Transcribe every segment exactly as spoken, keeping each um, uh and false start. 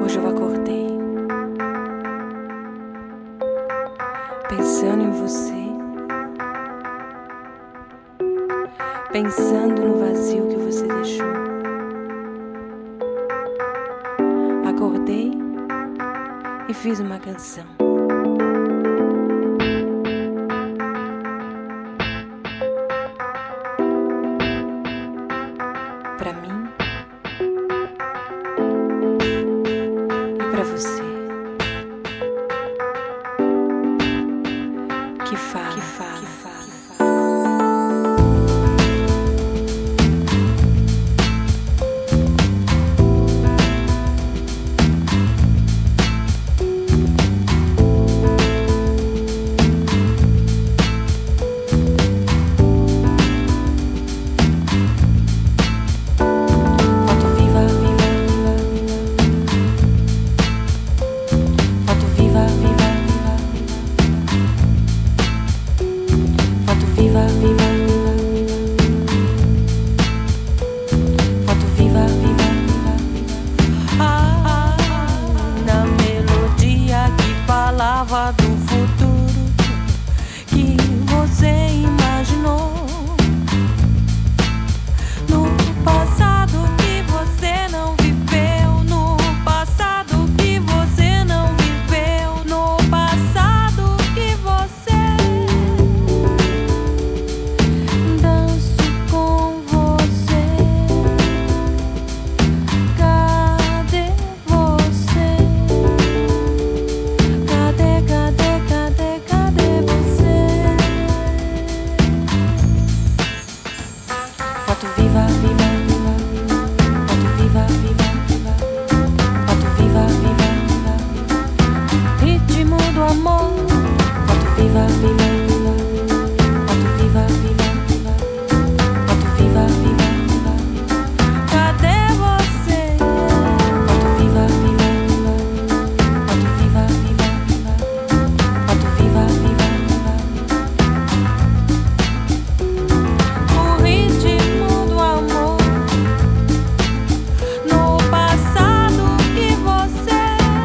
Hoje eu acordei pensando em você, pensando no vazio que você deixou. Acordei e fiz uma canção. Pra mim e pra você, que fala, que fala, que fala, que fala. Do futuro que você imaginou, no passado que você não viveu, no passado que você não viveu, no passado que você danço com você. Cadê você? Cadê, cadê, cadê, cadê você? Foto viva, viva, viva, foto viva, viva, viva, foto viva, viva, viva, ritmo do amor. Foto viva, viva, viva, foto viva, viva, viva, foto viva, viva, viva, cadê você? Foto viva, viva, viva, foto viva, viva, viva, foto viva, viva, viva, o ritmo do amor, no passado que você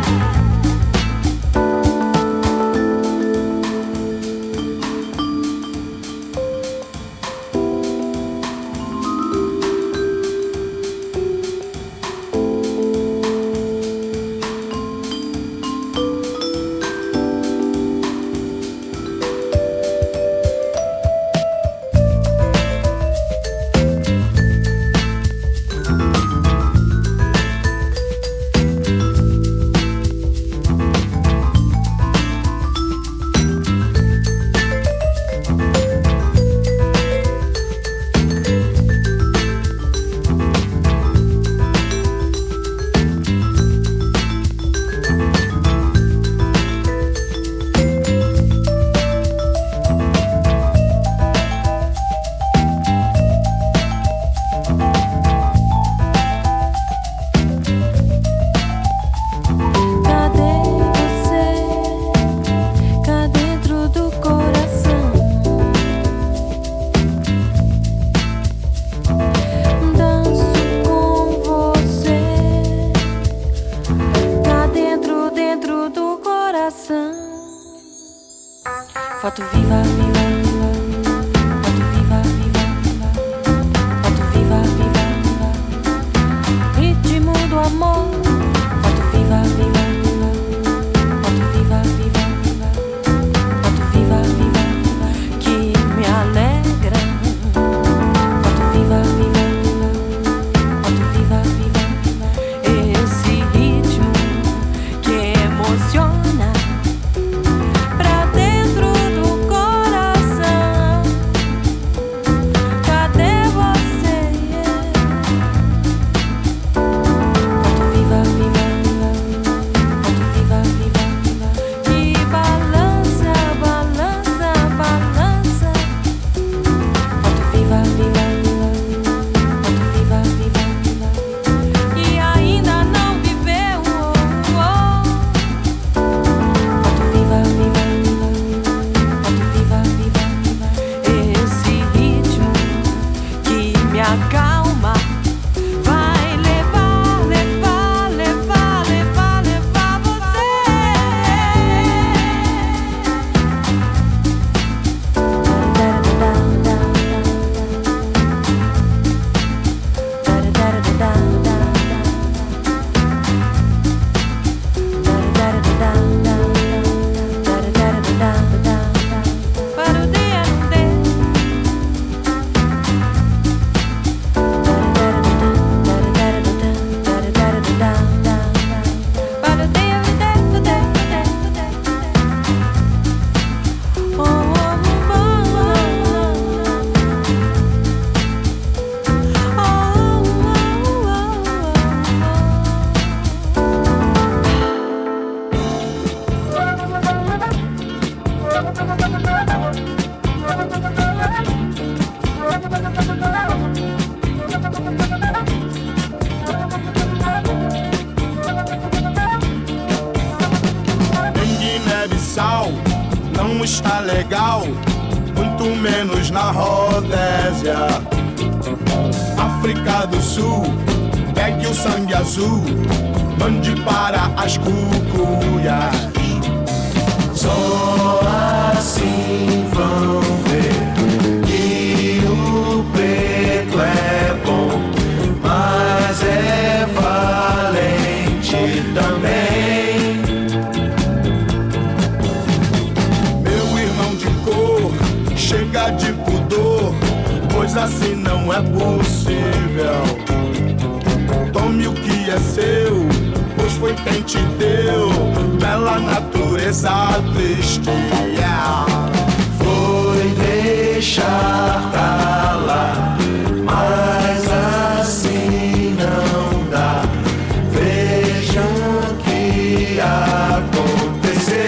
foto viva, viva, viva, foto viva, viva, viva, foto viva, viva, viva, ritmo do amor. Foto viva, viva, viva, foto viva, viva, viva, foto viva, viva, viva, que me alegra. Foto viva, viva, viva, foto viva, viva, viva, esse ritmo que emociona. Pra dentro do coração, cadê você? Foto viva. Guiné-Bissau não está legal, muito menos na Rodésia. África do Sul, pegue o sangue azul, mande para as cucuias. Só assim vão ver que o preto é bom, mas é valente também. Meu irmão de cor, chega de pudor, pois assim não é possível. Tome o que é seu, pois foi quem te deu, bela natureza triste. Yeah. Foi deixar pra lá, mas assim não dá. Vejam o que aconteceu.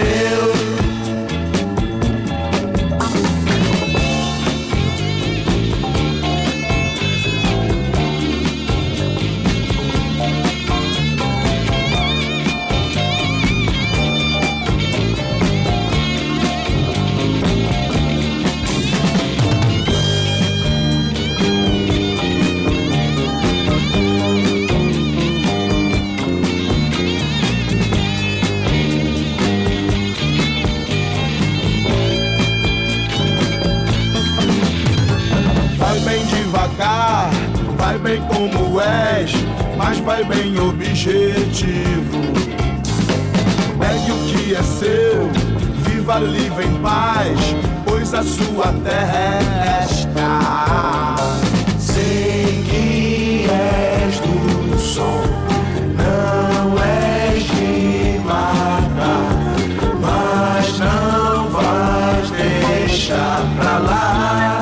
Vai bem como és, mas vai bem objetivo. Pegue o que é seu, viva livre em paz, pois a sua terra é esta. Sei que és do som, não és de matar, mas não vais deixar pra lá.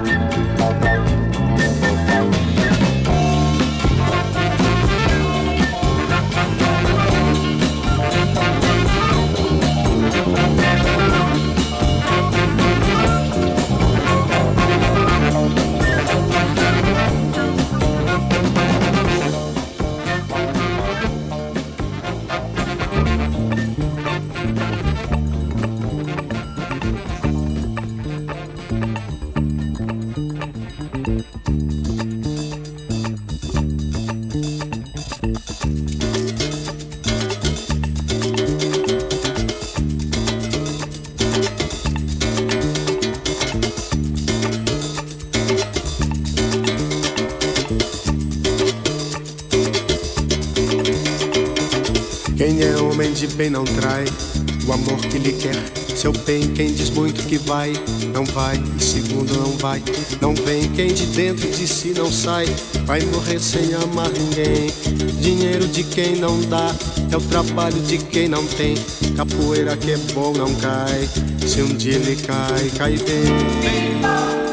Quem é homem de bem não trai o amor que lhe quer seu bem. Quem diz muito que vai, não vai, e segundo não vai, não vem. Quem de dentro de si não sai, vai morrer sem amar ninguém. Dinheiro de quem não dá, é o trabalho de quem não tem. Capoeira que é bom não cai, se um dia ele cai, cai bem.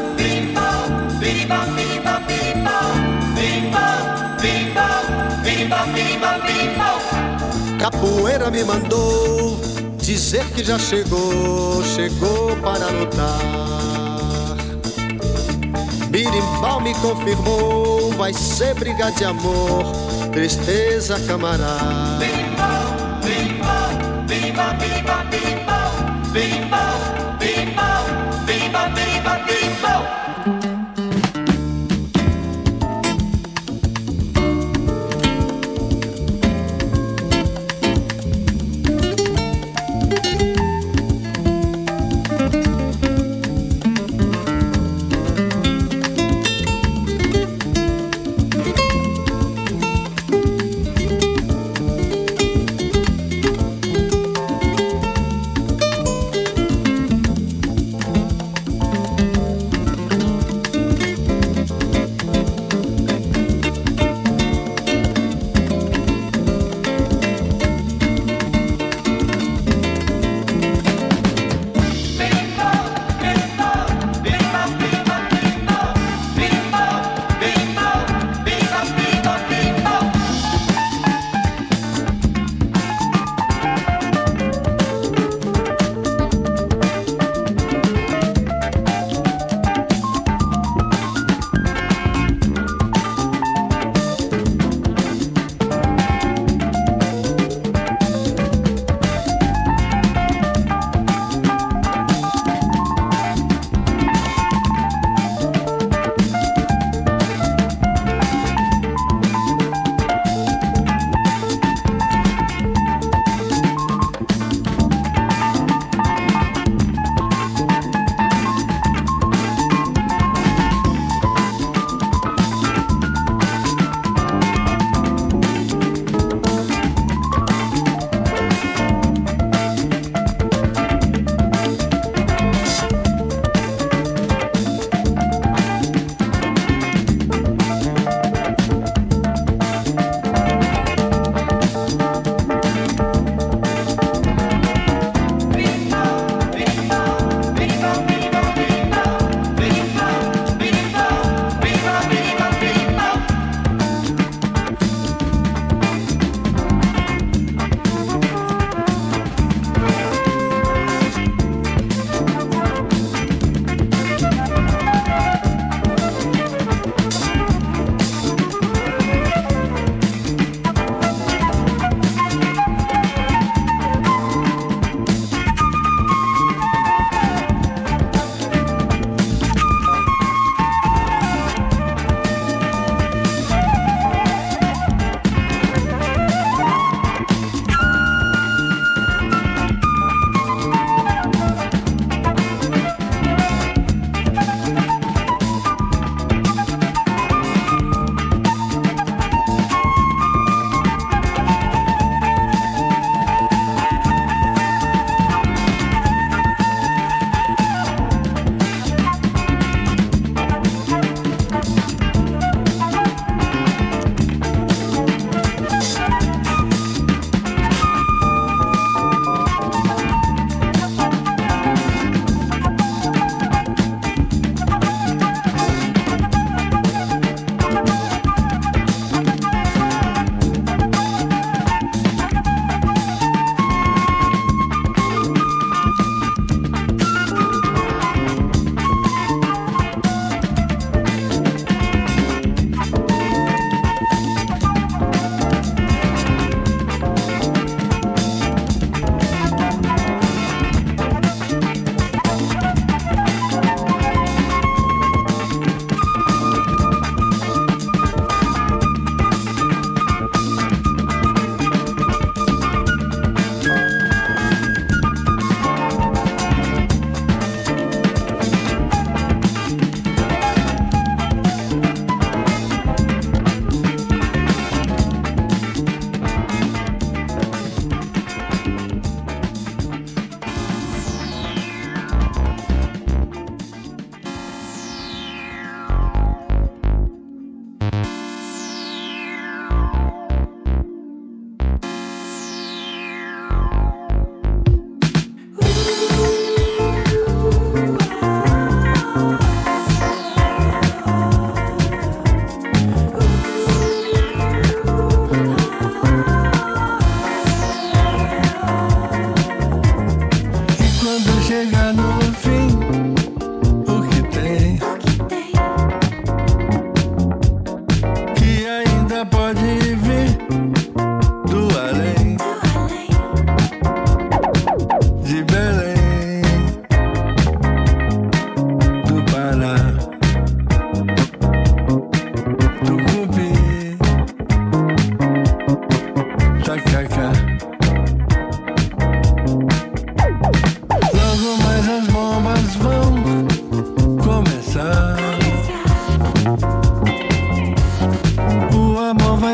Capoeira me mandou dizer que já chegou, chegou para lutar. Birimbau me confirmou, vai ser briga de amor, tristeza camarada. Birimbau, birimbau, birimbau, birimbau, birimbau, birimbau, birimbau, birimbau, birimbau, birimbau.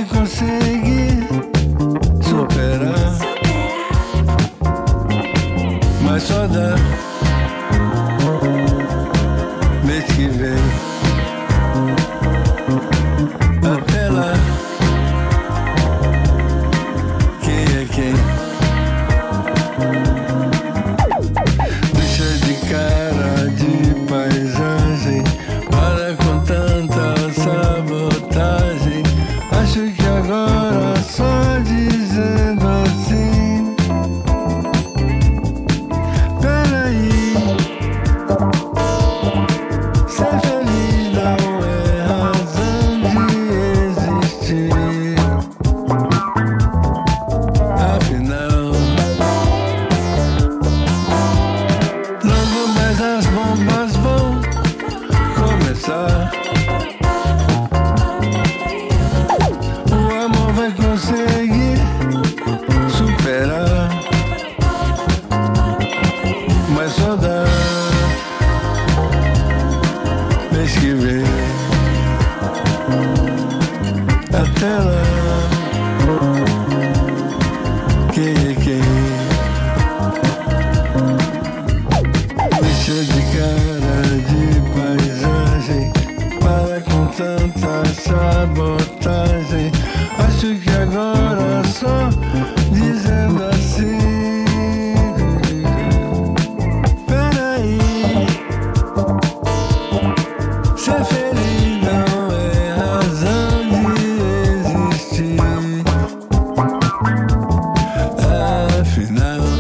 vai conseguir superar, mas só dá mês que vem. Até lá, quem é quem? Deixa de cara de paisagem, para com tanta sabotagem. Acho que agora só dizendo assim, peraí, ser feliz não é razão de existir. Afinal, logo mais as bombas vão começar. O amor vai conseguir superar, mas só dá mês que vem. Até lá, quem é quem? Deixa de cara de paisagem, para com tanta sabotagem. Acho que agora só dizendo assim, peraí, ser feliz não é razão de existir. Afinal,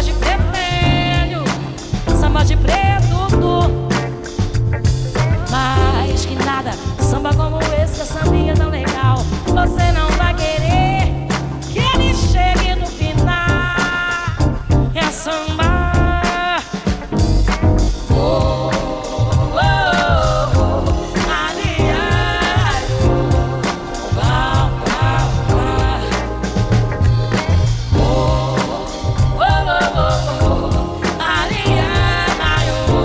Samba de vermelho, samba de preto, tu. Mais que nada, samba como esse, essa sambinha tão legal. Você não vai querer que ele chegue no final. É samba. Oh,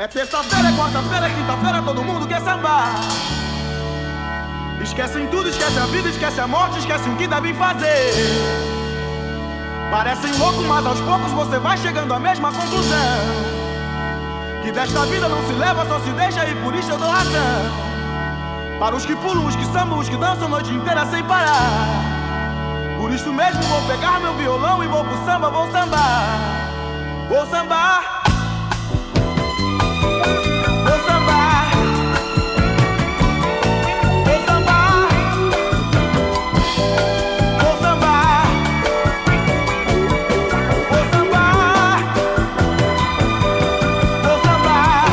É terça-feira, é quarta-feira, é quinta-feira, todo mundo quer sambar. Esquecem tudo, esquece a vida, esquece a morte, esquece o que devem fazer. Parecem loucos, mas aos poucos você vai chegando à mesma conclusão. Que desta vida não se leva, só se deixa e por isso eu dou razão. Para os que pulam, os que sambam, os que dançam a noite inteira sem parar. Por isso mesmo vou pegar meu violão e vou pro samba, vou sambar. Vou sambar. Vou sambar. Vou sambar. Vou sambar. Vou sambar. Vou sambar.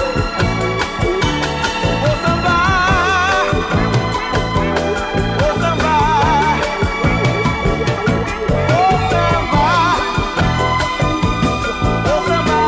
Vou sambar. Vou sambar. Vou sambar. Vou sambar.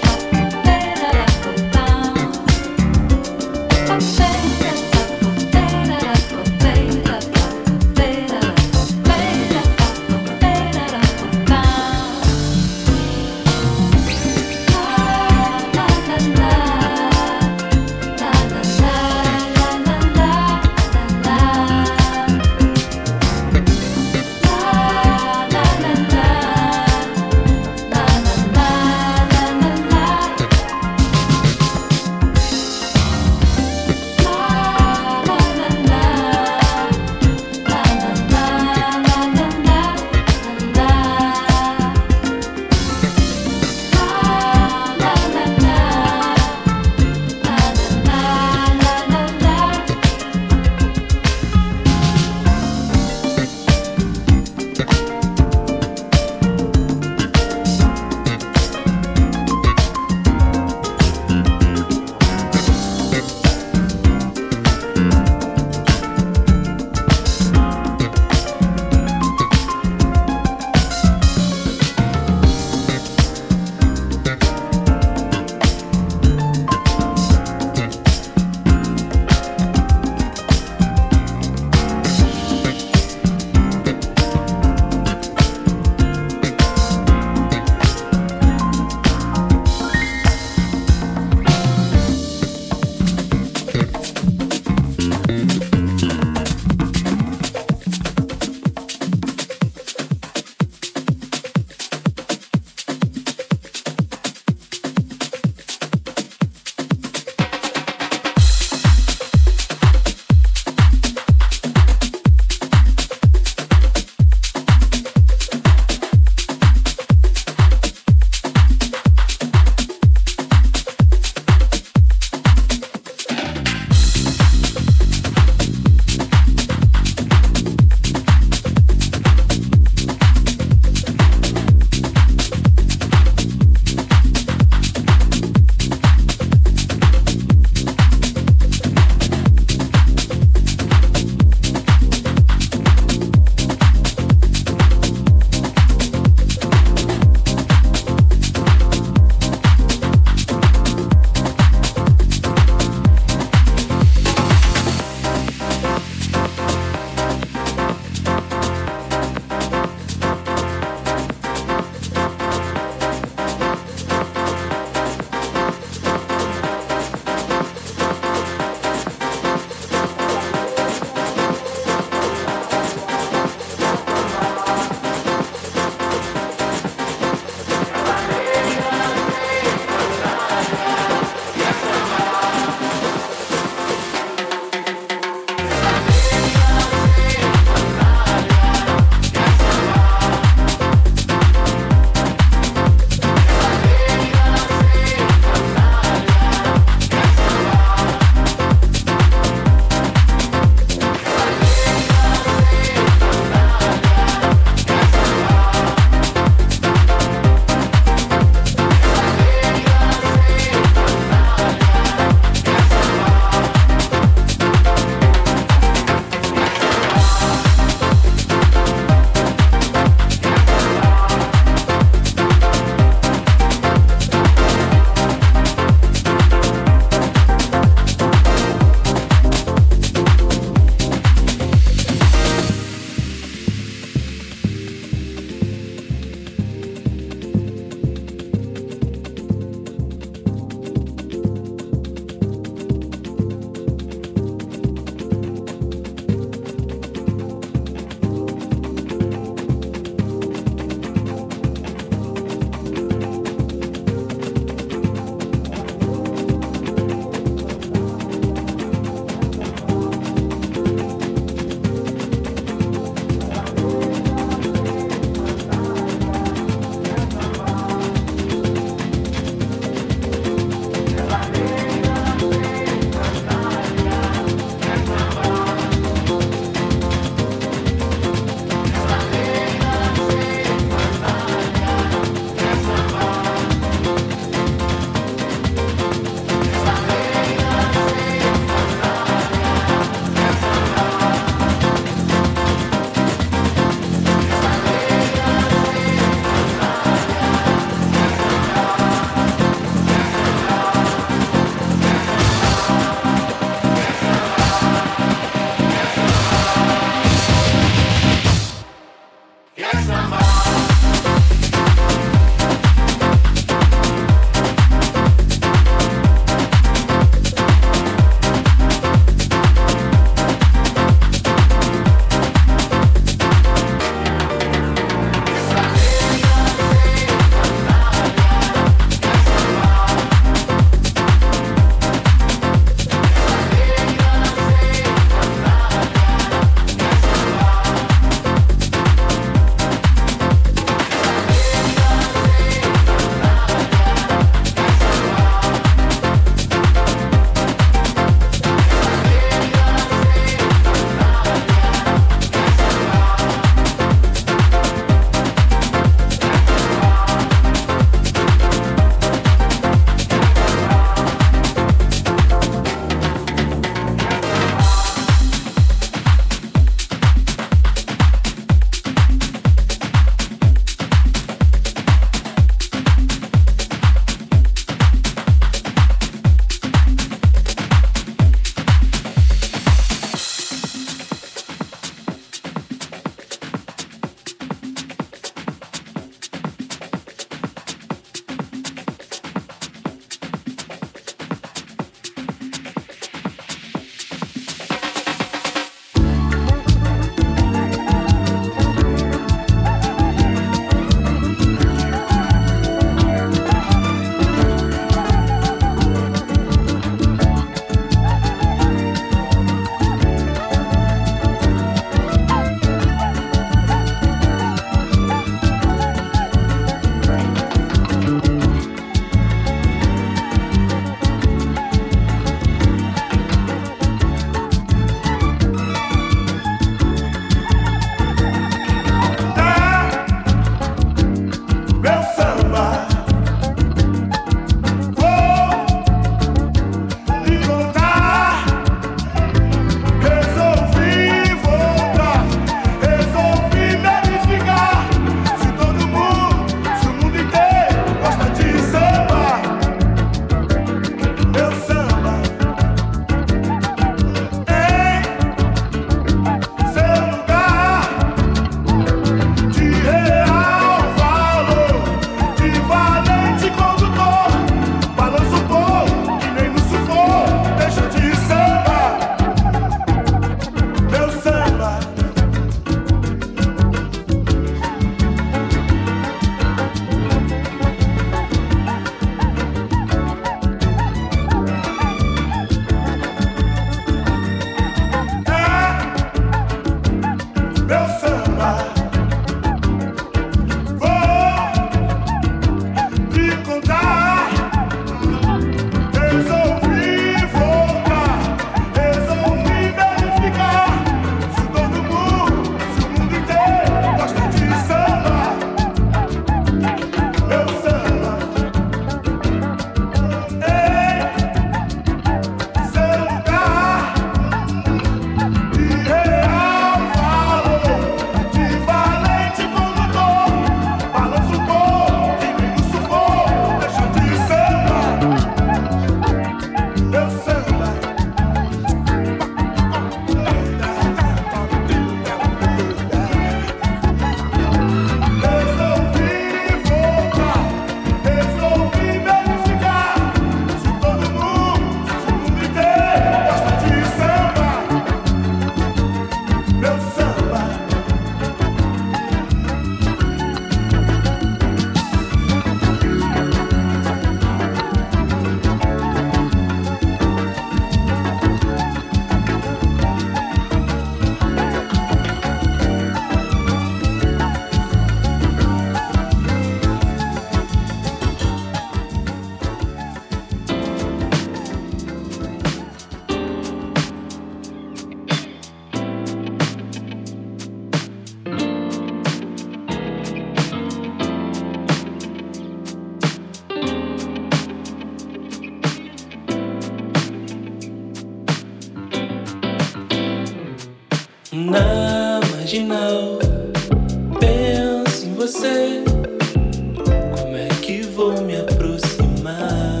Na marginal, penso em você. Como é que vou me aproximar?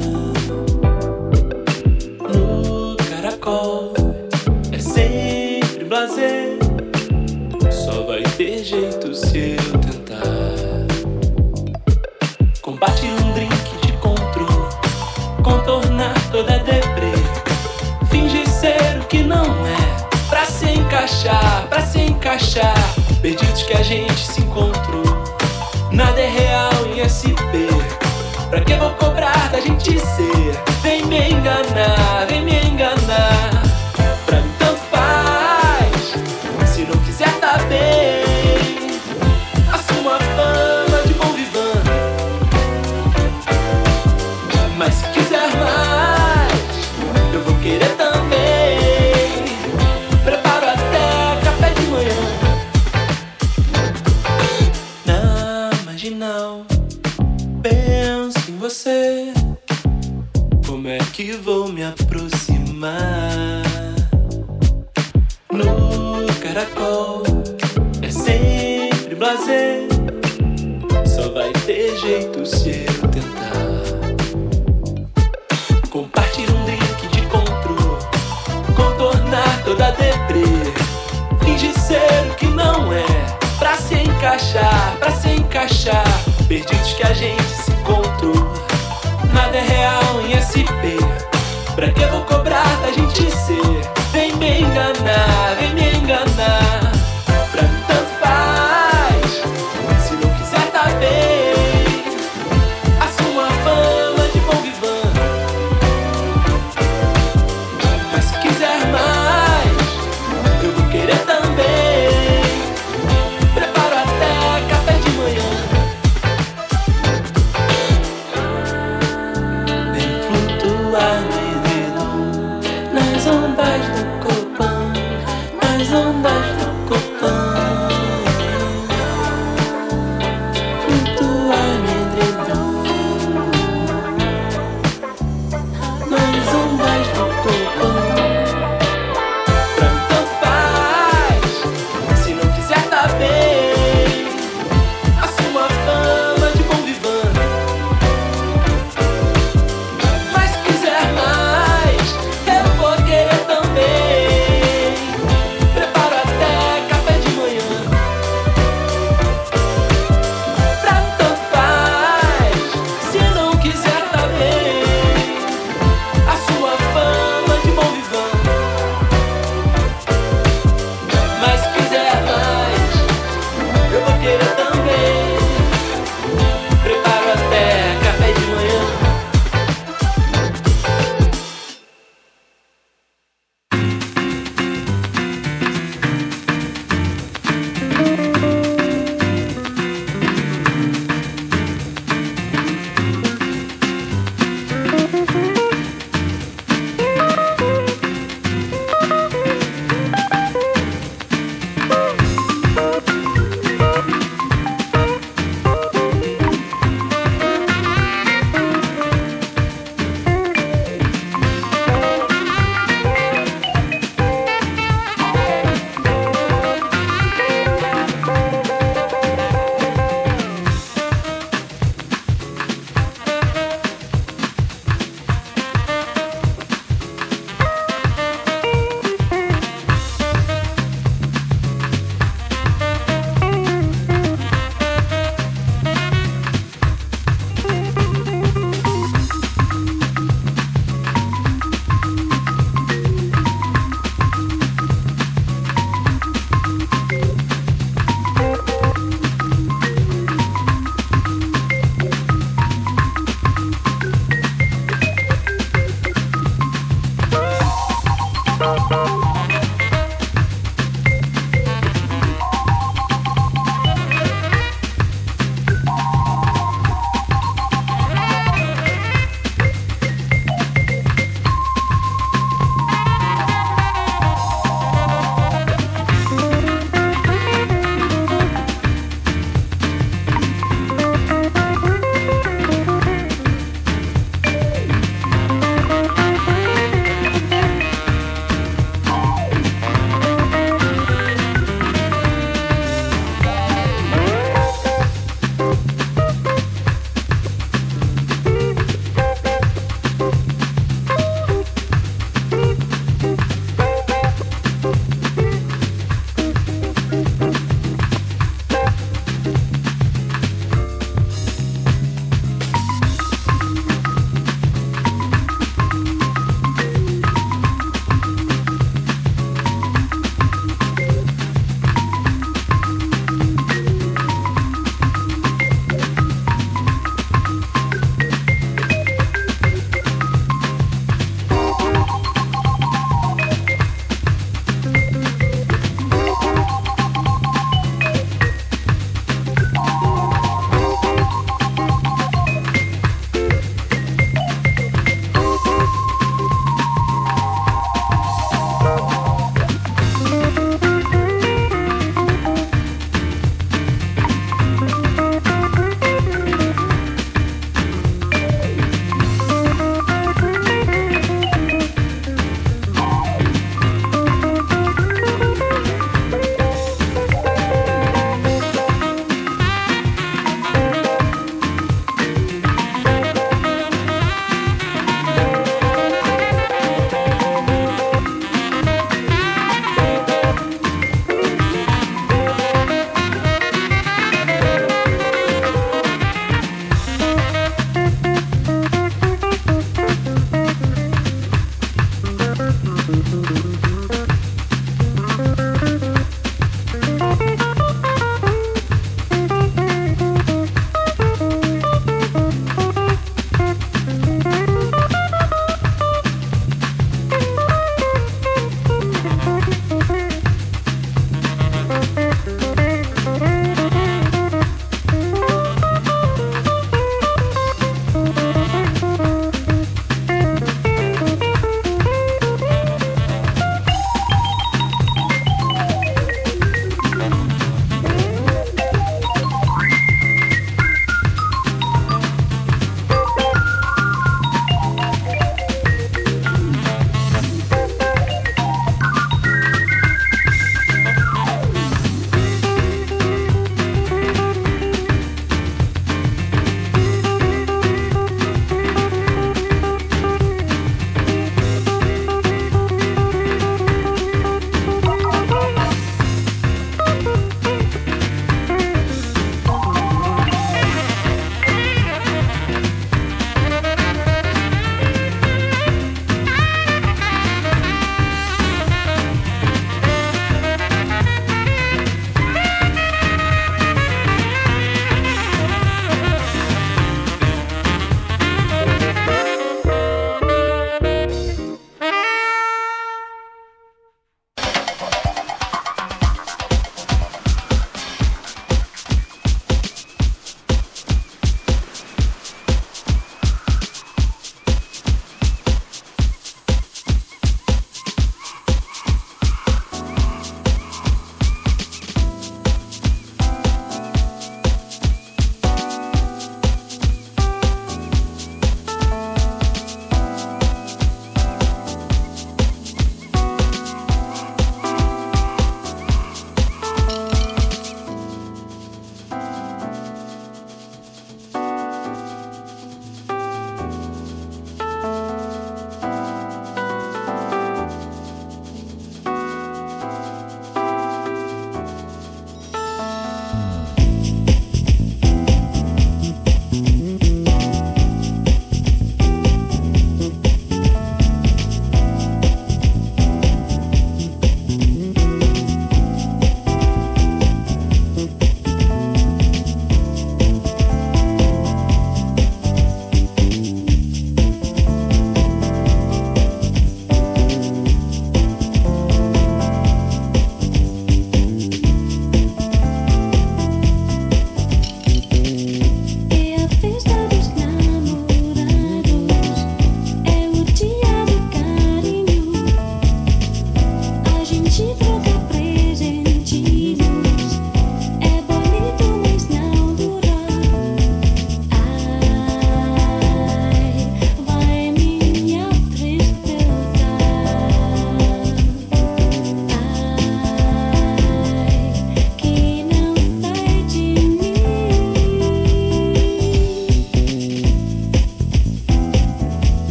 No caracol é sempre blasé. Só vai ter jeito se eu tentar. Compartilhar um drink de controle, contornar toda deprê, fingir ser o que não é, pra se encaixar, pra se encaixar. Perdidos que a gente se encontrou, nada é real em S P. Pra que vou cobrar da gente ser? Vem me enganar, vem me enganar. Pra mim tanto faz, se não quiser tá bem. Assuma a fama de bom vivant, mas se quiser mais, eu vou querer também. Preparo até café de manhã. Na marginal, penso em você. Como é que vou me aproximar? No caracol é sempre blasé. Só vai ter jeito se eu tentar. Compartilhar um drink de controle, contornar toda deprê, fingir ser o que não é, pra se encaixar, pra se encaixar. Perdidos que a gente se encontrou, nada é real em S P. Pra que vou cobrar da gente ser? Vem me enganar, vem me enganar. Pra mim tanto faz, se não quiser tá bem. Assuma a fama de bom vivant, mas se quiser mais, eu vou querer também. Preparo até café de manhã.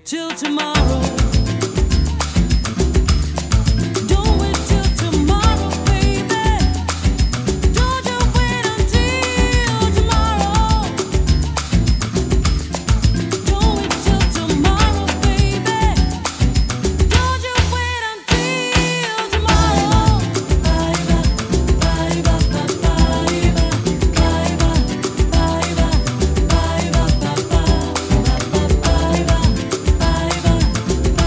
till tomorrow. Don't wait till tomorrow, baby. Don't you wait until tomorrow. Don't wait till tomorrow, baby. Don't you wait until tomorrow. Bye bye, bye bye, bye bye, bye bye, bye bye, bye bye, bye bye, bye bye.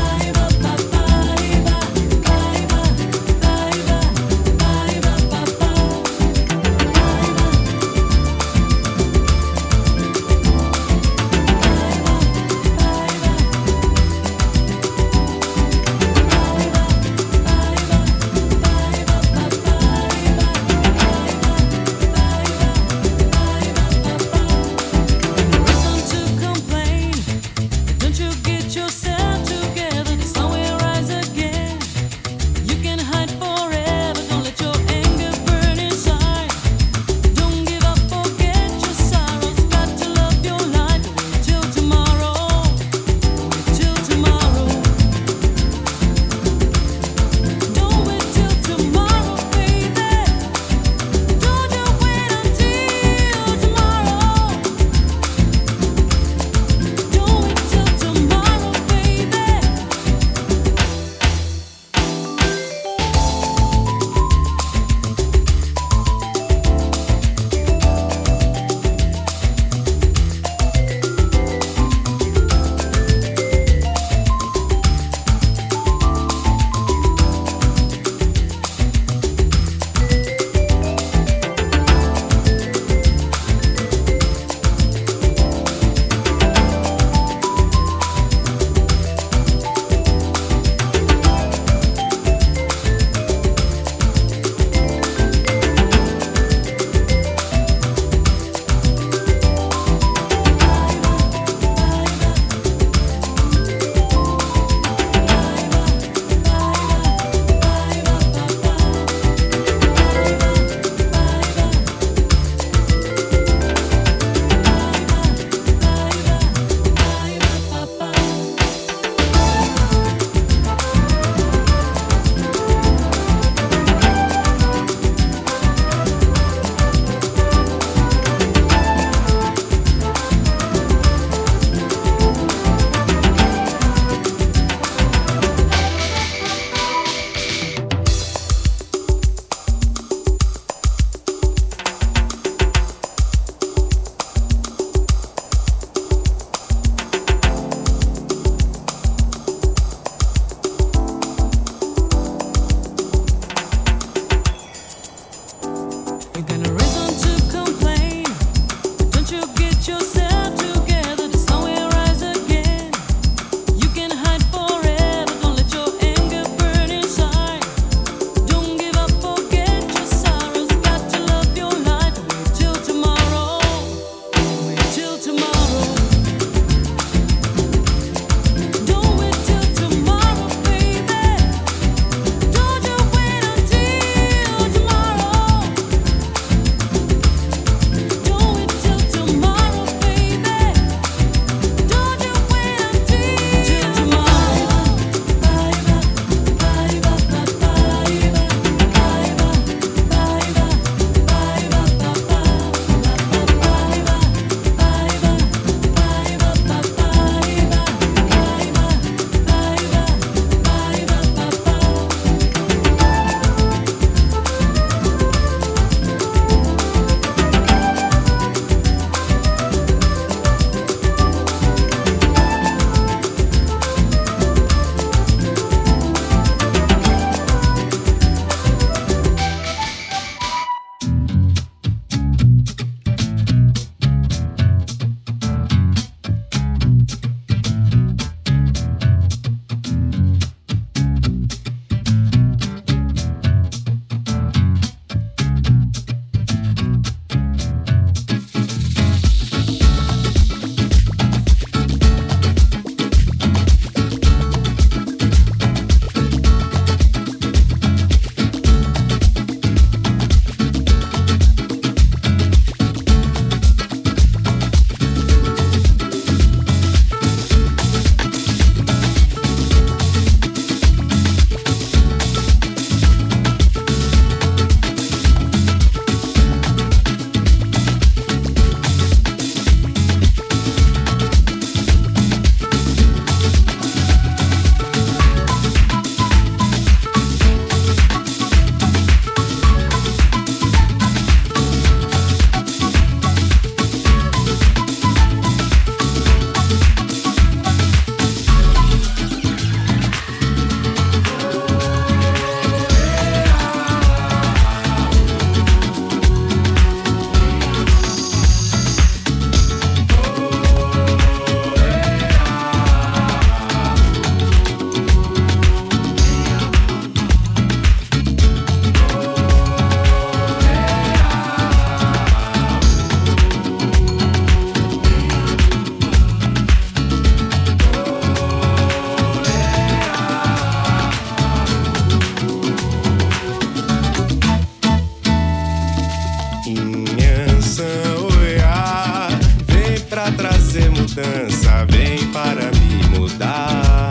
pra trazer mudança, vem para me mudar.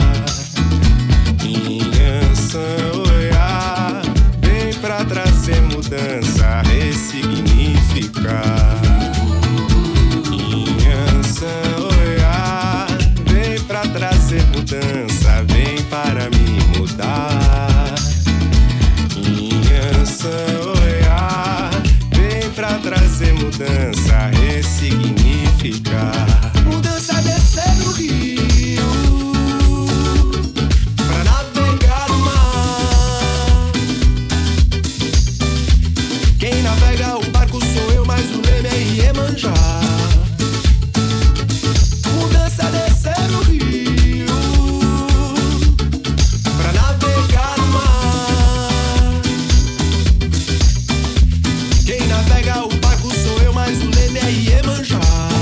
Inhansan-Oiá, vem pra trazer mudança, ressignificar. Inhansan-Oiá, vem pra trazer mudança, vem para me mudar. Inhansan-Oiá, vem pra trazer mudança, ressignificar. Mudança descer no rio pra navegar o mar. Quem navega o barco sou eu, mas o leme é Iemanjá. Mudança descer no rio pra navegar o mar. Quem navega o barco sou eu, mas o leme é Iemanjá.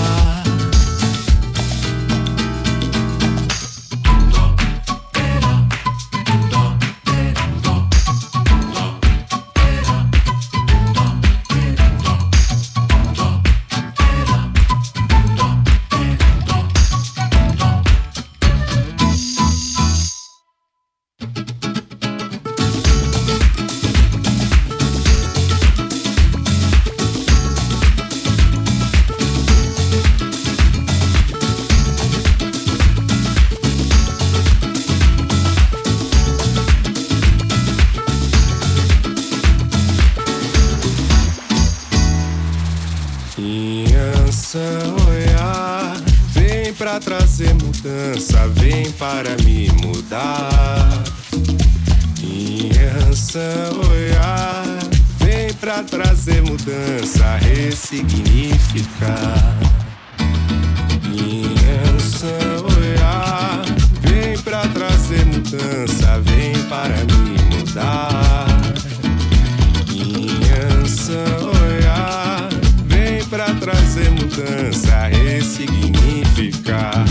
Inhansan-Oiá, vem pra trazer mudança, vem para me mudar. Inhansan-Oiá, vem pra trazer mudança, ressignificar. Inhansan-Oiá, vem pra trazer mudança, vem para me mudar. Inhansan-Oiá, vem pra trazer mudança, ressignificar.